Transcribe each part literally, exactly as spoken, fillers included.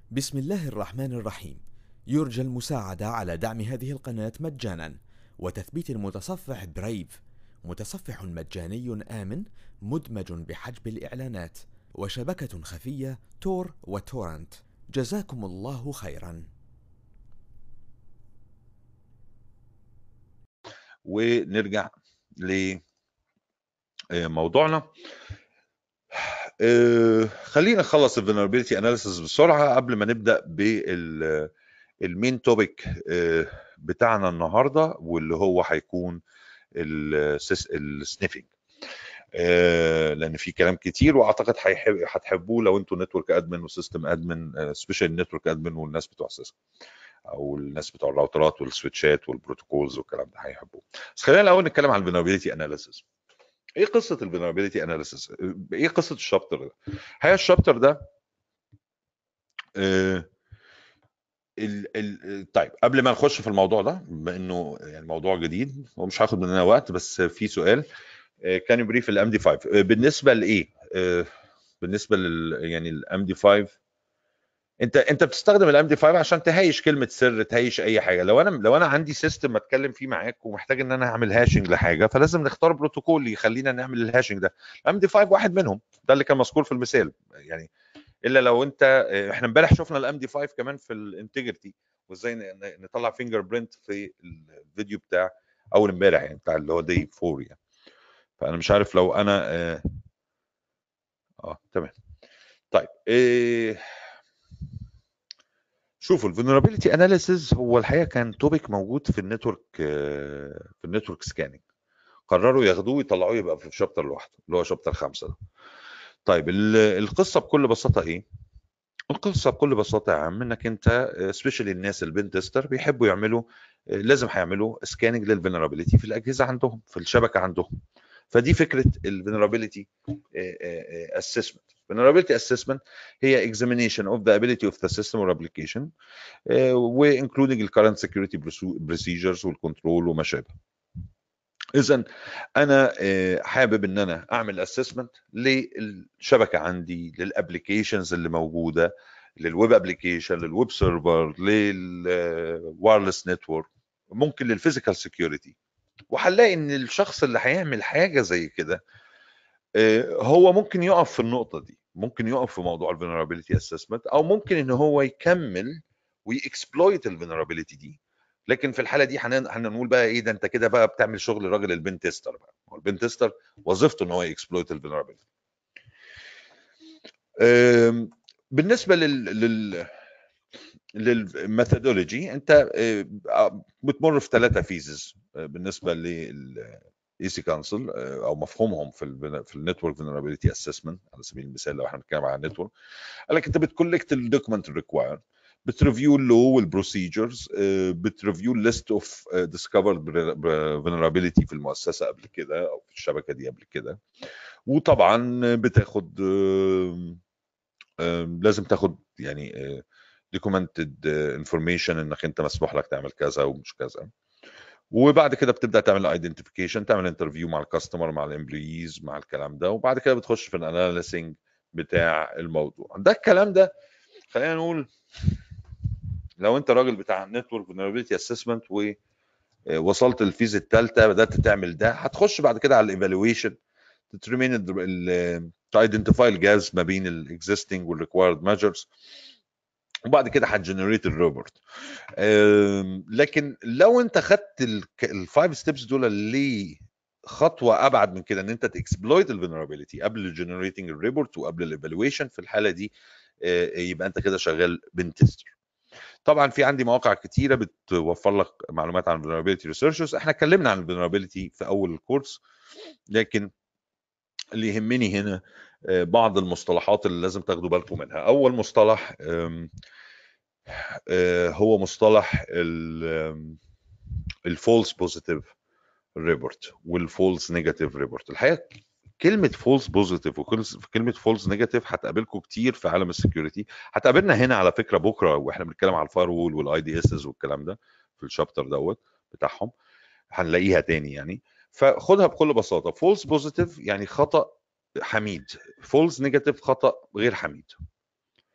بسم الله الرحمن الرحيم. يرجى المساعدة على دعم هذه القناة مجانا وتثبيت المتصفح برايف، متصفح مجاني آمن مدمج بحجب الإعلانات وشبكة خفية تور وتورنت. جزاكم الله خيرا. ونرجع لموضوعنا. آه، خلينا نخلص الفولنربيلتي اناليسيس بسرعه قبل ما نبدا بالمين توبيك بتاعنا النهارده، واللي هو هيكون السنيفنج، لان في كلام كتير واعتقد هتحبوه لو انتوا نتورك ادمن وسيستم ادمن، سبيشال نتورك ادمن والناس بتوع سيستم او الناس بتوع الراوترات والسويتشات والبروتوكولز والكلام ده هيحبوه. بس خلينا الاول نتكلم عن الفولنربيلتي اناليسيس. ايه قصه الفولنربيلتي اناليسيس؟ ايه قصه الشابتر ده؟ هي الشابتر ده آه ال ال طيب قبل ما نخش في الموضوع ده، بما انه يعني موضوع جديد ومش هاخد مننا وقت، بس في سؤال كان يبريف الام دي خمسة بالنسبه لايه؟ آه بالنسبه لل يعني الام دي خمسة، انت انت بتستخدم الام دي خمسة عشان تهيش كلمه سر، تهيش اي حاجه. لو انا لو انا عندي سيستم اتكلم فيه معاك ومحتاج ان انا اعمل هاشنج لحاجه، فلازم نختار بروتوكول يخلينا نعمل الهاشنج ده. الام دي خمسة واحد منهم، ده اللي كان مذكور في المثال يعني. الا لو انت، احنا امبارح شفنا الام دي خمسة كمان في الانتجريتي، وازاي نطلع فينجر برنت في الفيديو بتاع اول امبارح يعني، بتاع اللي هو دي أربعة يعني. فانا مش عارف لو انا اه, آه تمام. طيب إيه، شوفوا الفولنربيلتي اناليسيز هو الحقيقه كان توبيك موجود في النتورك، في النتورك سكاننج. قرروا ياخدوه ويطلعوه يبقى في شابتر لوحده اللي هو شابتر خمسة ده. طيب القصه بكل بساطه ايه؟ القصه بكل بساطه يا عم انك انت سبيشالي الناس البين تيستر بيحبوا يعملوا، لازم هيعملوا سكاننج للفولنربيلتي في الاجهزه عندهم، في الشبكه عندهم. فدي فكره الفولنربيلتي اسسمنت. vulnerability assessment هي examination of the ability of the system or application وانكلودنج الكرنت سكيورتي بروسيجرز والكنترول وما شابه. اذا انا حابب ان انا اعمل اسسمنت للشبكه عندي، للابلكيشنز اللي موجوده، للويب ابلكيشن، للويب سيرفر، للوايرلس نتورك، ممكن للفيزيكال سكيورتي. وهنلاقي ان الشخص اللي هيعمل حاجه زي كده هو ممكن يقف في النقطه دي، ممكن يقف في موضوع الفولنربيلتي اسسمنت، او ممكن ان هو يكمل ويكسبلويت الفولنربيلتي دي. لكن في الحاله دي هنقول بقى ايه ده، انت كده بقى بتعمل شغل الراجل البن تيستر بقى. هو البن تيستر وظيفته ان هو يكسبلويت الفولنربيلتي. بالنسبه لل لل للميثودولوجي، انت بتمر في ثلاثه فيزز بالنسبه لل اي سي كونسل او مفهومهم في ال في النتورك فولنربيلتي اسسمنت. على سبيل المثال لو احنا بنتكلم عن النتورك، قال لك انت بتكولكت الدوكيمنت ريكوايرد، بتريفيو اللو والبروسيجرز، بتريفيو الليست اوف ديسكفرد فولنربيلتي في المؤسسه قبل كده او في الشبكه دي قبل كده. وطبعا بتاخد لازم تاخد يعني دوكيومنتد انفورميشن انك انت مسموح لك تعمل كذا ومش كذا. وبعد كده بتبدا تعمل ايدنتيفيكيشن، تعمل انترفيو مع الكاستمر، مع الامبلويز، مع الكلام ده. وبعد كده بتخش في الاناليسنج بتاع الموضوع ده. الكلام ده خلينا نقول لو انت راجل بتاع نتورك فولنربيلتي اسسمنت ووصلت للفيز الثالثه بدات تعمل ده، هتخش بعد كده على الايفالويشن، تترمين تايدنتيفاي الجابس ما بين الاكزيستنج والريكوايرد ميجرز، وبعد كده هتجنريت الريبورت. لكن لو انت خدت الفايف ستيبس دول لخطوه ابعد من كده، ان انت تكسبلويت الفولنربيلتي قبل الجنريتنج الريبورت وقبل الايفالويشن، في الحاله دي يبقى انت كده شغال بن تيستر. طبعا في عندي مواقع كتيره بتوفر لك معلومات عن vulnerability researchers. احنا اتكلمنا عن vulnerability في اول الكورس، لكن اللي يهمني هنا بعض المصطلحات اللي لازم تاخدوا بالكم منها. اول مصطلح هو مصطلح الفولس بوزيتيف ريبورت والفولس نيجاتيف ريبورت. الحقيقه كلمه فولس بوزيتيف وكلمه فولس نيجاتيف هتقابلكم كتير في عالم السكيورتي، هتقابلنا هنا على فكره بكره واحنا بنتكلم على الفاير وول والاي دي اس والكلام ده في الشابتر دوت بتاعهم، هنلاقيها تاني يعني. فخدها بكل بساطه، فولس بوزيتيف يعني خطا حميد، فولس نيجاتيف خطا غير حميد.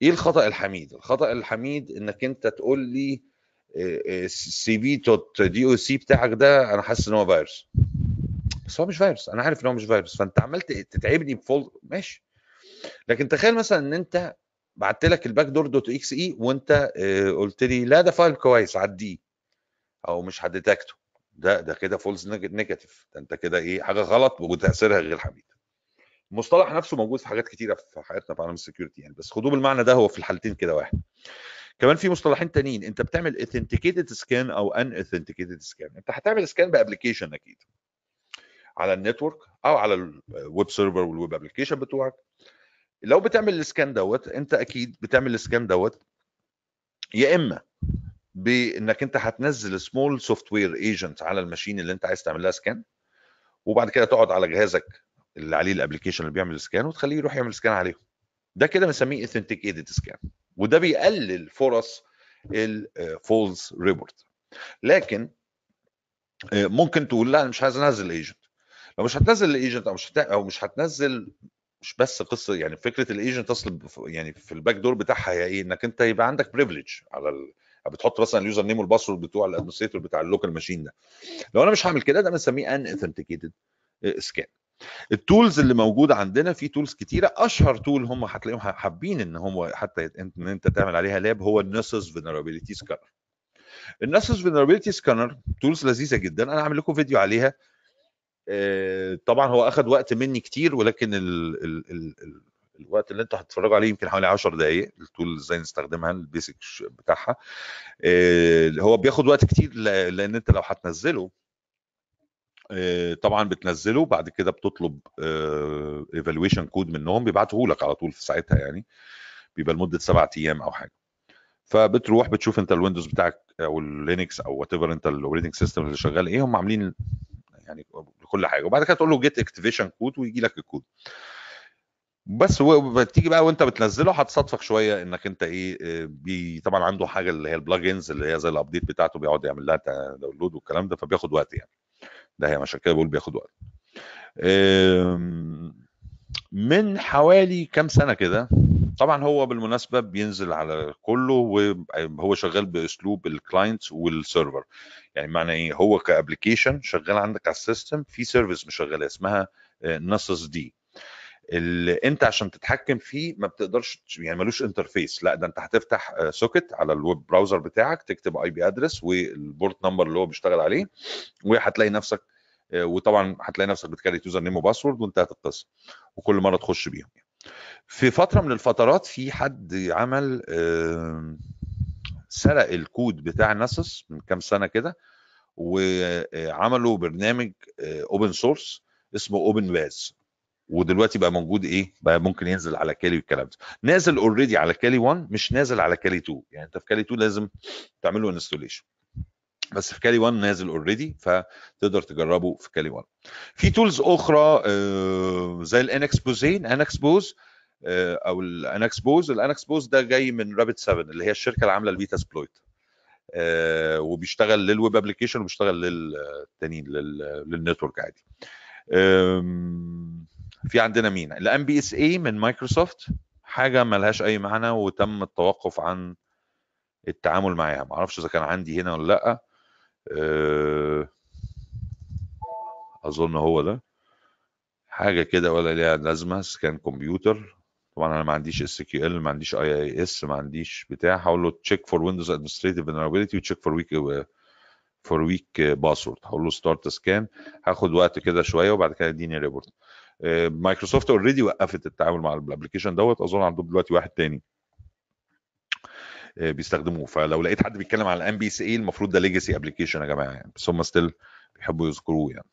ايه الخطا الحميد؟ الخطا الحميد انك انت تقول لي سي بي دوت دي او سي بتاعك ده انا حاسس ان هو فيروس، بس هو مش فيروس، انا عارف ان هو مش فيروس، فانت عملت تتعبني بفول ماشي. لكن تخيل مثلا ان انت بعت لك الباك دور دوت اكس اي وانت آه، قلت لي لا ده فايل كويس عديه او مش هديتكته، ده ده كده فولس نيجاتيف، ده انت كده ايه حاجه غلط وتاثيرها غير حميد. المصطلح نفسه موجود في حاجات كتيره في حياتنا في عالم السكيورتي يعني، بس خدوه بالمعنى ده، هو في الحالتين كده واحد. كمان في مصطلحين تانيين، انت بتعمل authenticated سكان او ان authenticated سكان. انت هتعمل سكان بابلكيشن اكيد على النتورك او على الويب سيرفر والويب ابلكيشن بتوعك. لو بتعمل السكان دوت انت اكيد بتعمل السكان دوت يا اما بانك انت هتنزل سمول سوفت وير ايجنت على الماشين اللي انت عايز تعمل لها سكان، وبعد كده تقعد على جهازك اللي عليه الابلكيشن اللي بيعمل سكان وتخليه يروح يعمل سكان عليهم. ده كده بنسميه authenticated سكان، وده بيقلل فرص الفولز ريبورت. لكن ممكن تقول لا انا مش عايز انزل ايجنت. لو مش هتنزل الايجنت او مش هت... او مش هتنزل، مش بس قصه يعني فكره الايجنت اصل يعني في الباك دور بتاعها هي ايه؟ انك انت يبقى عندك بريفليج على ال... بتحط مثلا اليوزر نيم والباسورد بتوع الادمنستريتور بتاع اللوكال ماشين ده. لو انا مش هعمل كده، ده بنسميه ان اوثنتيكيتد سكان. التولز اللي موجوده عندنا في تولز كتيره، اشهر تول هم هتلاقيهم حابين ان هم حتى ان انت تعمل عليها لاب هو النسس فينرابيلتي سكانر. النسس فينرابيلتي سكانر تولز لذيذه جدا، انا عامل لكم فيديو عليها. طبعا هو اخذ وقت مني كتير، ولكن ال ال ال ال الوقت اللي انتوا هتتفرجوا عليه يمكن حوالي عشر دقائق. التول ازاي نستخدمها، البيسك بتاعها هو بياخد وقت كتير، لان انت لو هتنزله طبعا بتنزله بعد كده بتطلب ايفالويشن كود منهم بيبعته لك على طول في ساعتها، يعني بيبقى لمده سبعة ايام او حاجه. فبتروح بتشوف انت الويندوز بتاعك او اللينكس او وات ايفر انت الاوبريتنج سيستم اللي شغال ايه، هم عاملين يعني كل حاجه، وبعد كده تقول له جيت اكتيفيشن كود ويجي لك الكود بس. وبتيجي بقى وانت بتنزله هتصادفك شويه انك انت ايه بي طبعا عنده حاجه اللي هي البلاجنز اللي هي زي الابديت بتاعته بيقعد يعمل لها داونلود والكلام ده، فبياخد وقت يعني. ده هي عشان كده بقول بياخد وقت. من حوالي كام سنه كده، طبعا هو بالمناسبه بينزل على كله وهو شغال باسلوب الكلاينت والسيرفر. يعني معنى ايه؟ هو كابلكيشن شغال عندك على السيستم في سيرفيس مشغله اسمها نسس دي، اللي انت عشان تتحكم فيه ما بتقدرش يعني ملوش انترفيس، لا ده انت هتفتح سوكت على الويب براوزر بتاعك، تكتب اي بي ادرس والبورت نمبر اللي هو بيشتغل عليه، وهتلاقي نفسك وطبعا هتلاقي نفسك بتكريت يوزر نيم وباسورد وانتهت القصه، وكل مره تخش بيهم. في فتره من الفترات في حد عمل سرق الكود بتاع ناسس من كام سنه كده، وعملوا برنامج اوبن سورس اسمه اوبن باز، ودلوقتي بقى موجود ايه بقى ممكن ينزل على كالي والكلام ده. نازل اوريدي على كالي واحد، مش نازل على كالي اتنين. يعني انت في كالي اتنين لازم تعمل له انستوليشن، بس في كالي واحد نازل اوريدي، فتقدر تجربه في كالي واحد. في تولز اخرى زي الانكسبوزين انكسبوز او الانكسبوز. الانكسبوز ده جاي من رابت سبعة اللي هي الشركه اللي عامله البيتا سبلويت، وبيشتغل للويب ابلكيشن وبيشتغل للتانيين للنتورك عادي. في عندنا مين؟ الام بي اس اي من مايكروسوفت، حاجه ملهاش اي معنى وتم التوقف عن التعامل معاها. ما اعرفش اذا كان عندي هنا ولا لا. اظن هو ده حاجه كده ولا ليها لازمه. سكان كمبيوتر، طبعا انا ما عنديش اس كيو ال، ما عنديش اي اي اس، ما عنديش بتاع. هقول له تشيك فور ويندوز ادمنستريتيف فولنربيلتي وتشيك فور ويك فور ويك باسورد. هقول له ستارت سكان، هاخد وقت كده شويه وبعد كده اديني ريبورت. مايكروسوفت اوريدي وقفت التعامل مع الابلكيشن دوت، اظن عندهم دلوقتي واحد تاني بيستخدموه. فلو لقيت حد بيتكلم على الام بي سي اي المفروض ده ليجاسي ابلكيشن يا جماعه يعني، بس هم ستيل بيحبوا يذكروه يعني.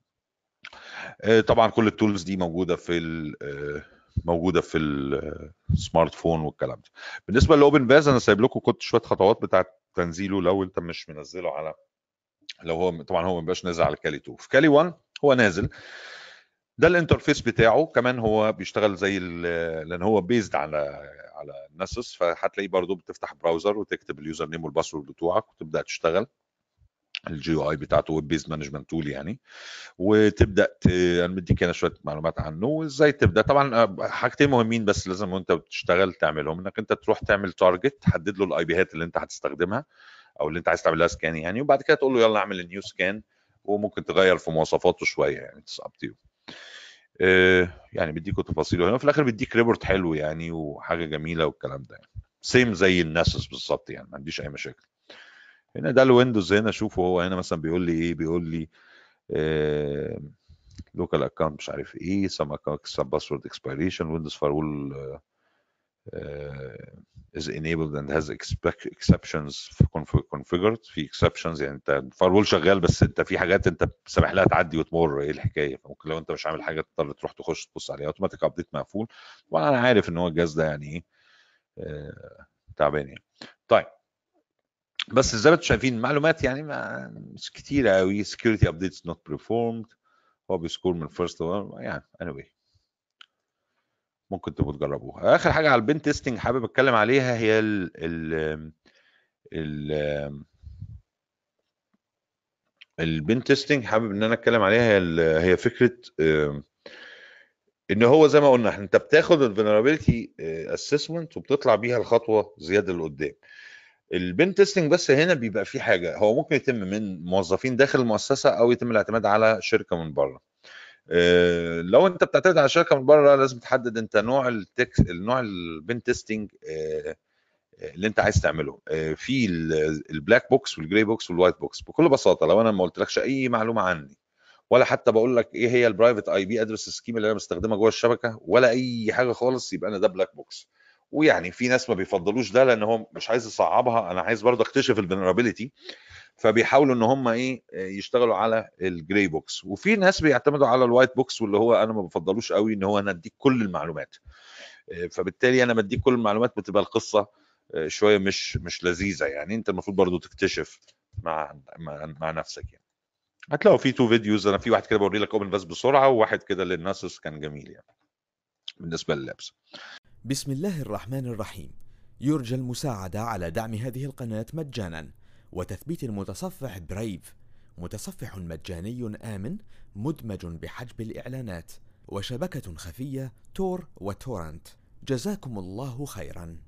طبعا كل التولز دي موجوده في موجوده في السمارت فون والكلام ده. بالنسبه لاوبن باز انا سايب لكم كنت شويه خطوات بتاعه تنزيله لو انت مش منزله على، لو هو طبعا هو ما بقاش نازل على كالي اتنين. في كالي واحد هو نازل، ده الانترفيس بتاعه. كمان هو بيشتغل زي لان هو بيزد على على ناسس، فهتلاقيه برضو بتفتح براوزر وتكتب اليوزر نيم والباسورد بتوعك وتبدا تشتغل. الجي او اي بتاعته ويب بيز مانجمنت تول يعني. وتبدا ت... انا مديك هنا شويه معلومات عنه وازاي تبدا. طبعا حاجتين مهمين بس لازم وانت بتشتغل تعملهم، انك انت تروح تعمل تارجت، تحدد له الاي بيهات اللي انت هتستخدمها او اللي انت عايز تعمل لها سكان يعني، وبعد كده تقول له يلا اعمل النيو سكان، وممكن تغير في مواصفاته شويه يعني اتس اب تو. يعني بيديكوا تفاصيله هنا، في الاخر بيديك ريبورت حلو يعني وحاجه جميله والكلام ده يعني. سيم زي الناسس بالظبط يعني، ما عنديش اي مشاكل. هنا ده الويندوز، هنا شوفوا هو هنا مثلا بيقول لي ايه، بيقول لي لوكال اكونت مش عارف ايه، سم اكونت سم باسورد اكسبيريشن، ويندوز فايرول is enabled and has exceptions configured. في exceptions يعني انت الفايرول شغال بس انت في حاجات انت سامح لها تعدي وتمر، ايه الحكايه؟ فممكن لو انت مش عامل حاجه تضطر تروح تخش تبص عليها. اوتوماتيك ابديت مقفول. طبعا انا عارف ان هو الجهاز ده يعني ايه آه تعبان يعني. طيب بس زي ما انتم شايفين المعلومات يعني مش كتيره قوي. security updates not performed، هو بيسكور من first يعني anyway ممكن تبقوا تجربوها. اخر حاجه على البين تيستنج حابب اتكلم عليها هي ال ال ال البين تيستنج حابب ان انا اتكلم عليها. هي هي فكره ان هو زي ما قلنا انت بتاخد الفولنربيلتي اسسمنت وبتطلع بيها الخطوه زياده لقدام. البين تيستنج بس هنا بيبقى في حاجه، هو ممكن يتم من موظفين داخل المؤسسه او يتم الاعتماد على شركه من بره. لو انت بتعتمد على شركه من بره لازم تحدد انت نوع التكس النوع البين تيستنج اللي انت عايز تعمله. في البلاك بوكس والجراي بوكس والوايت بوكس. بكل بساطه لو انا ما قلتلكش اي معلومه عني، ولا حتى بقول لك ايه هي البرايفت اي بي ادرس سكيم اللي انا بستخدمها جوه الشبكه، ولا اي حاجه خالص، يبقى انا ده بلاك بوكس. ويعني في ناس ما بيفضلوش ده لان هو مش عايز يصعبها، انا عايز برضه اكتشف الفولنربيلتي، فبيحاولوا ان هم ايه يشتغلوا على الجراي بوكس. وفي ناس بيعتمدوا على الوايت بوكس واللي هو انا ما بفضلوش قوي، ان هو انا اديك كل المعلومات. فبالتالي انا بديك كل المعلومات بتبقى القصه شويه مش مش لذيذه يعني. انت المفروض برضو تكتشف مع مع, مع نفسك يعني. هتلاقوا في تو فيديوز، انا في واحد كده بوري لك اوبن بس بسرعه، وواحد كده للناسوس كان جميل يعني بالنسبه لللابس. بسم الله الرحمن الرحيم. يرجى المساعدة على دعم هذه القناة مجانا وتثبيت المتصفح برايف، متصفح مجاني آمن مدمج بحجب الإعلانات وشبكة خفية تور وتورنت. جزاكم الله خيرا.